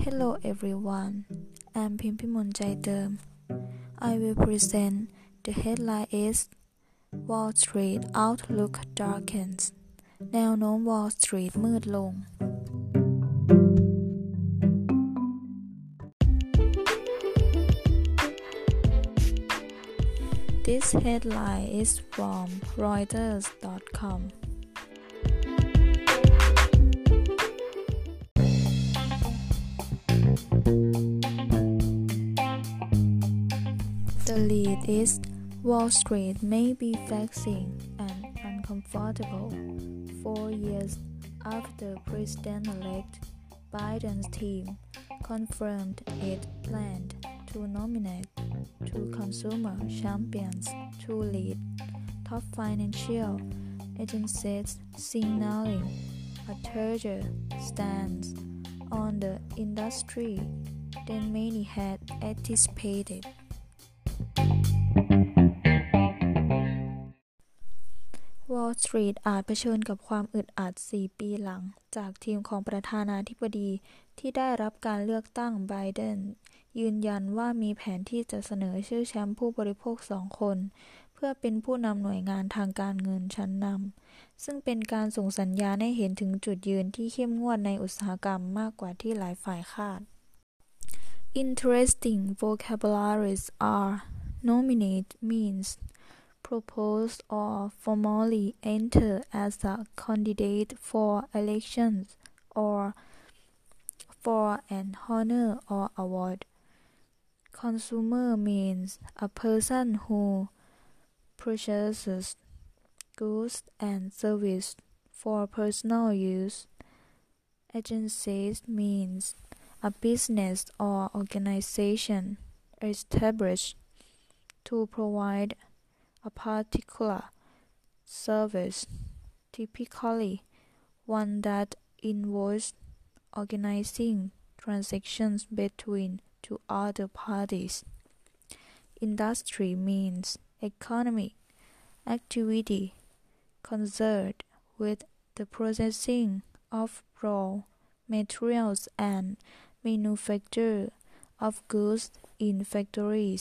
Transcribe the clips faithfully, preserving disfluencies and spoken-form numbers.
Hello everyone, I'm พิมพิมลใจเติม I will present the headline is Wall Street Outlook Darkens แนวโน้ม Wall Street มืดลง This headline is from Reuters dot com The lead is Wall Street may be facing an uncomfortable four years after President-elect Biden's team confirmed it planned to nominate two consumer champions to lead top financial agencies, signaling a larger stance on the industry than many had anticipated. Wall Street อาจเผชิญกับความอึดอัดสี่ปีหลังจากทีมของประธานาธิบดีที่ได้รับการเลือกตั้งไบเดนยืนยันว่ามีแผนที่จะเสนอชื่อแชมป์ผู้บริโภคสองคนเพื่อเป็นผู้นำหน่วยงานทางการเงินชั้นนำซึ่งเป็นการส่งสัญญาณให้เห็นถึงจุดยืนที่เข้มงวดในอุตสาหกรรมมากกว่าที่หลายฝ่ายคาด Interesting vocabularies are nominate means propose or formally enter as a candidate for elections or for an honor or award. Consumer means a person who purchases goods and services for personal use. Agencies means a business or organization established to provide a particular service, typically one that involves organizing transactions between two other parties. Industry means economic activity concerned with the processing of raw materials and manufacture of goods in factories.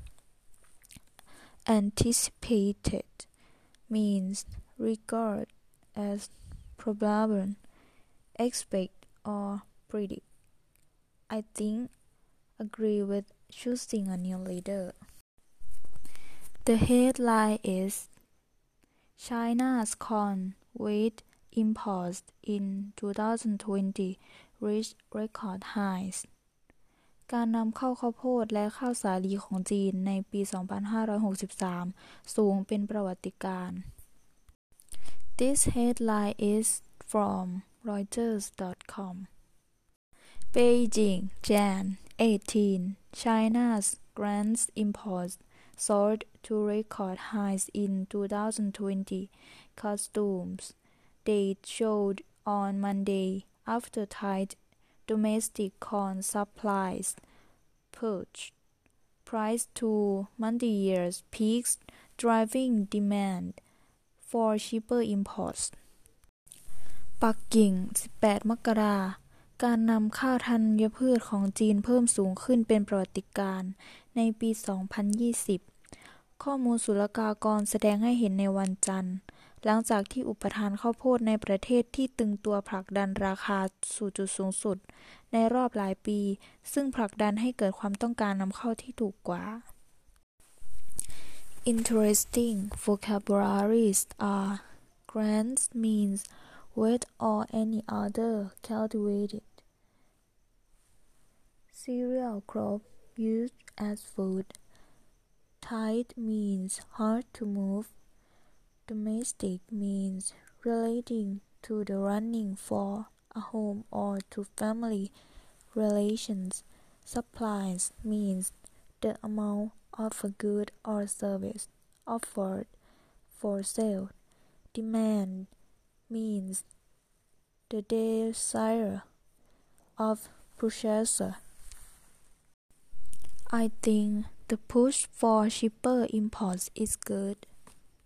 Anticipated means regard as probable, expect or predict. I think agree with choosing a new leader. The headline is China's corn wheat imports in twenty twenty reached record highs. การนำเข้าข้าวโพดและข้าวสาลีของจีนในปี สองพันห้าร้อยหกสิบสาม สูงเป็นประวัติการณ์ This headline is from Reuters dot com Beijing, January eighteenth China's grain imports soared to record highs in twenty twenty, customs data showed on Monday after tight domestic corn supplies pushed price to multi-year peaks, driving demand for cheaper imports. ปักกิ่ง สิบแปด มกราคม การนำเข้าธัญพืชของจีนเพิ่มสูงขึ้นเป็นประวัติการณ์ในปี สองพันยี่สิบ ข้อมูลศุลกากรแสดงให้เห็นในวันจันทร์หลังจากที่อุปทานข้าวโพดในประเทศที่ตึงตัวผลักดันราคาสู่จุดสูงสุดในรอบหลายปีซึ่งผลักดันให้เกิดความต้องการนำเข้าที่ถูกกว่า Interesting vocabularies are grains means wheat or any other cultivated cereal crop used as food. Tight means hard to move. Domestic means relating to the running for a home or to family relations. Supplies means the amount of a good or service offered for sale. Demand means the desire of purchaser. I think the push for cheaper imports is good.